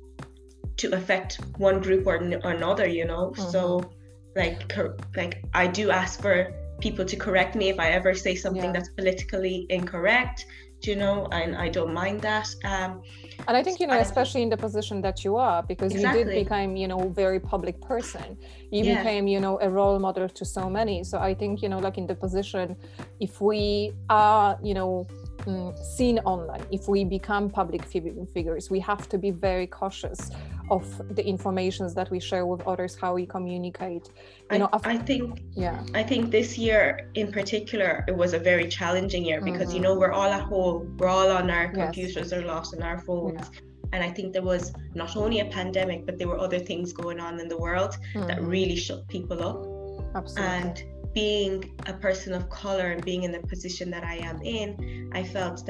affect one group or another, you know. So like I do ask for people to correct me if I ever say something that's politically incorrect, you know, and I don't mind that. And I think, you know, especially in the position that you are, because you did become, you know, very public person. You became, you know, a role model to so many. So I think, you know, like in the position, if we are, you know, seen online, if we become public figures, we have to be very cautious of the informations that we share with others, how we communicate. You know, I think this year in particular, it was a very challenging year, because you know, we're all at home, we're all on our computers or lost on our phones. And I think there was not only a pandemic, but there were other things going on in the world that really shook people up. Absolutely. And being a person of color and being in the position that I am in, I felt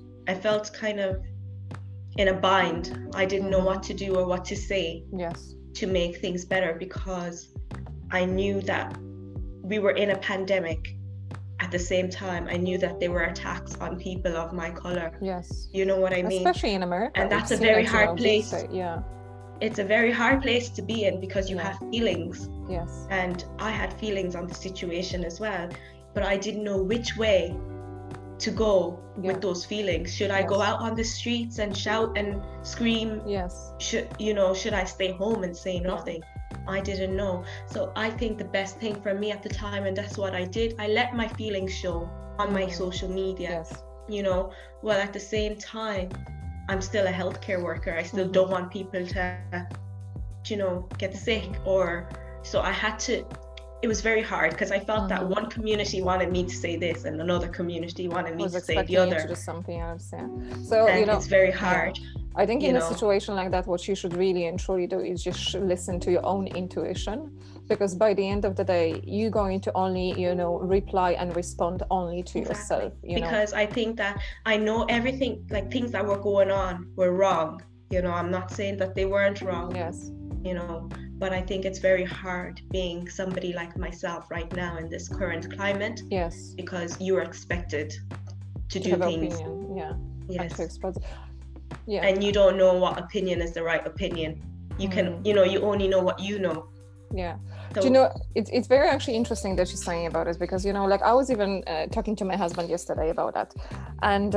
kind of in a bind. I didn't know what to do or what to say to make things better, because I knew that we were in a pandemic. At the same time, I knew that there were attacks on people of my color. Yes. You know what I mean? Especially in America. And that's a very hard place. Yeah. It's a very hard place to be in, because you have feelings. Yes. And I had feelings on the situation as well, but I didn't know which way to go with those feelings. Should I go out on the streets and shout and scream? Yes. Should I stay home and say nothing? I didn't know. So I think the best thing for me at the time, and that's what I did, I let my feelings show on my social media. Yes. You know, well, at the same time, I'm still a healthcare worker. I still don't want people to, you know, get sick, or so I had to. It was very hard, because I felt that one community wanted me to say this and another community wanted me to say the other. You to do something else, So and you know, it's very hard. I think in a situation like that, what you should really and truly do is just listen to your own intuition, because by the end of the day, you're going to only, you know, reply and respond only to yourself. Because I think that I know everything, like things that were going on were wrong. You know, I'm not saying that they weren't wrong. Yes. You know, but I think it's very hard being somebody like myself right now in this current climate. Yes. Because you are expected to do things. Opinion. Yes. Yeah. And you don't know what opinion is the right opinion. you can, you only know what you know. Yeah. So, do you know, it's very actually interesting that she's saying about it, because, like I was even talking to my husband yesterday about that. And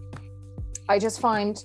I just find,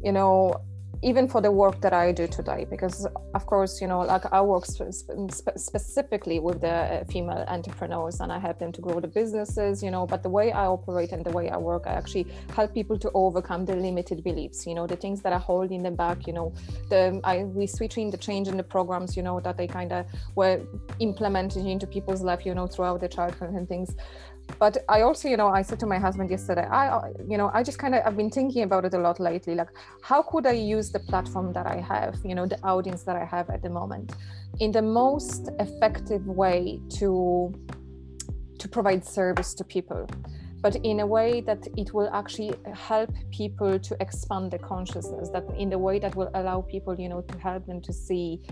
even for the work that I do today, because of course, like I work specifically with the female entrepreneurs, and I help them to grow the businesses, but the way I operate and the way I work, I actually help people to overcome the limited beliefs, the things that are holding them back, we switch in the change in the programs, that they kind of were implemented into people's life, throughout their childhood and things. But I also, I said to my husband yesterday, I just I've been thinking about it a lot lately. Like, how could I use the platform that I have, the audience that I have at the moment, in the most effective way to provide service to people, but in a way that it will actually help people to expand their consciousness, that in the way that will allow people, to help them to see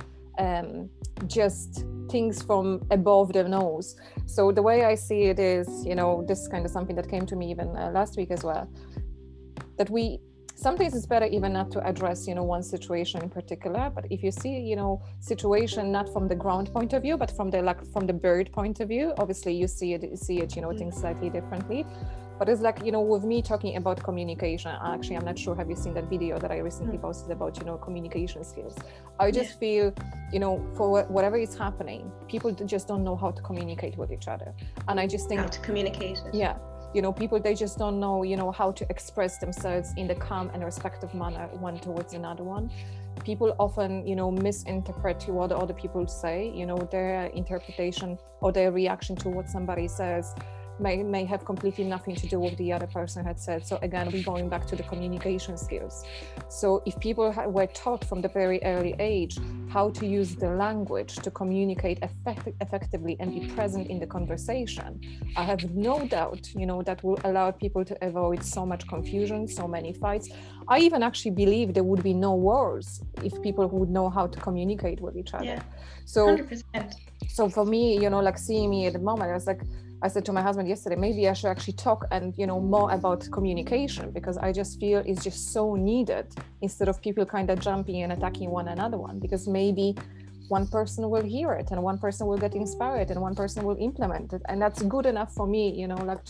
just things from above their nose. So the way I see it is, this is kind of something that came to me even last week as well, that sometimes it's better even not to address, one situation in particular, but if you see, situation not from the ground point of view, but from the bird point of view, obviously you see it, things slightly differently. But it's like, with me talking about communication, actually, I'm not sure, have you seen that video that I recently posted about, communication skills? I just feel, for whatever is happening, people just don't know how to communicate with each other. And I just think... How to communicate. Yeah. People, they just don't know, how to express themselves in the calm and respectful manner one towards another one. People often, misinterpret what other people say, their interpretation or their reaction to what somebody says may have completely nothing to do with the other person had said. So again, we're going back to the communication skills. So if people were taught from the very early age how to use the language to communicate effectively and be present in the conversation, I have no doubt, that will allow people to avoid so much confusion, so many fights. I even actually believe there would be no wars if people would know how to communicate with each other. Yeah, so 100%. So for me, like seeing me at the moment, I said to my husband yesterday, maybe I should actually talk and, more about communication, because I just feel it's just so needed, instead of people kind of jumping and attacking one another, because maybe one person will hear it and one person will get inspired and one person will implement it. And that's good enough for me,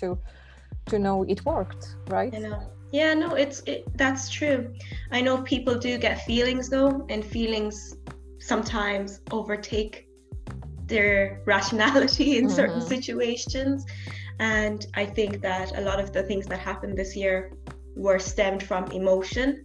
to know it worked, right? Yeah, no, that's true. I know people do get feelings though, and feelings sometimes overtake their rationality in certain situations. And I think that a lot of the things that happened this year were stemmed from emotion.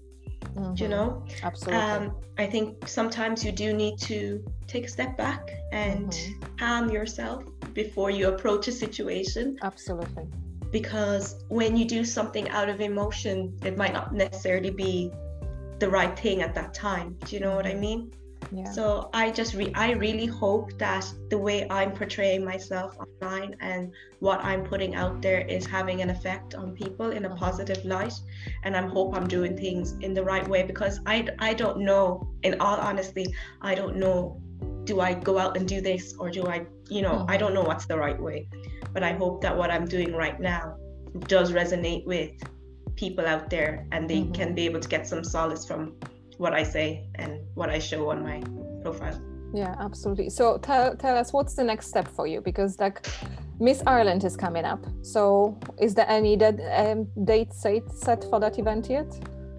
Absolutely. I think sometimes you do need to take a step back and calm yourself before you approach a situation. Absolutely. Because when you do something out of emotion, it might not necessarily be the right thing at that time. Do you know what I mean? Yeah. So I really hope that the way I'm portraying myself online and what I'm putting out there is having an effect on people in a positive light. And I hope I'm doing things in the right way, because I don't know, in all honesty, I don't know, do I go out and do this, or do I, I don't know what's the right way. But I hope that what I'm doing right now does resonate with people out there, and they can be able to get some solace from what I say and what I show on my profile. Yeah, absolutely. So tell us, what's the next step for you? Because Miss Ireland is coming up. So is there any date set for that event yet?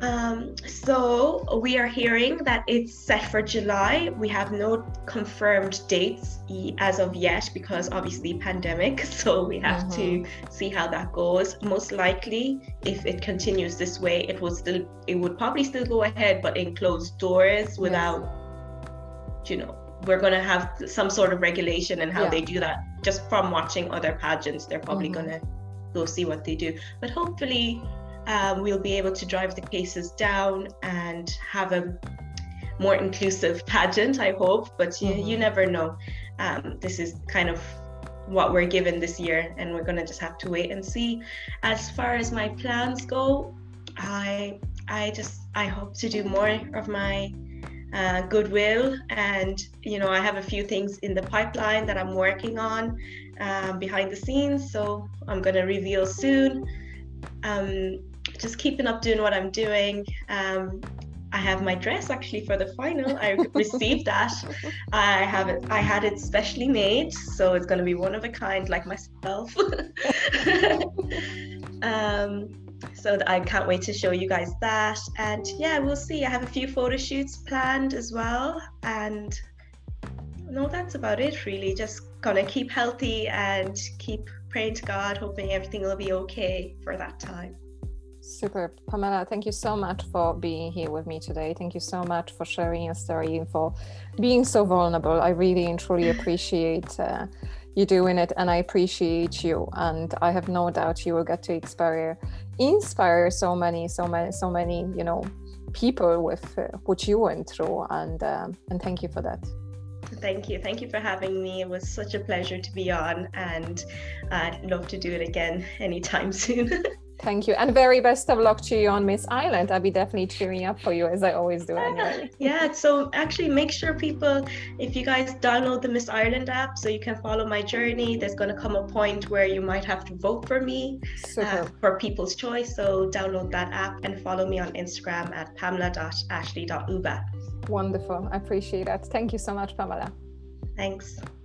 So we are hearing that it's set for July. We have no confirmed dates as of yet, because obviously pandemic. So we have to see how that goes. Most likely, if it continues this way, it would probably still go ahead, but in closed doors without, we're going to have some sort of regulation in how they do that. Just from watching other pageants, they're probably going to go see what they do. But hopefully, we'll be able to drive the cases down and have a more inclusive pageant, I hope. But you never know. This is kind of what we're given this year, and we're going to just have to wait and see. As far as my plans go, I hope to do more of my goodwill, and I have a few things in the pipeline that I'm working on behind the scenes, so I'm going to reveal soon. Just keeping up doing what I'm doing. I have my dress actually for the final. I received that. I have it. I had it specially made, so it's going to be one of a kind, like myself. So I can't wait to show you guys that. And yeah, we'll see. I have a few photo shoots planned as well. And no, that's about it really. Just gonna keep healthy and keep praying to God, hoping everything will be okay for that time. Super. Pamela, thank you so much for being here with me today. Thank you so much for sharing your story and for being so vulnerable. I really and truly appreciate you doing it, and I appreciate you. And I have no doubt you will get to inspire so many, you know, people with what you went through. And thank you for that. Thank you for having me. It was such a pleasure to be on, and I'd love to do it again anytime soon. Thank you, and very best of luck to you on Miss Ireland. I'll be definitely cheering up for you, as I always do anyway. Yeah, so actually make sure people, if you guys download the Miss Ireland app so you can follow my journey, there's going to come a point where you might have to vote for me for People's Choice. So download that app and follow me on Instagram at pamela.ashley.uba. Wonderful. I appreciate that. Thank you so much, Pamela. Thanks.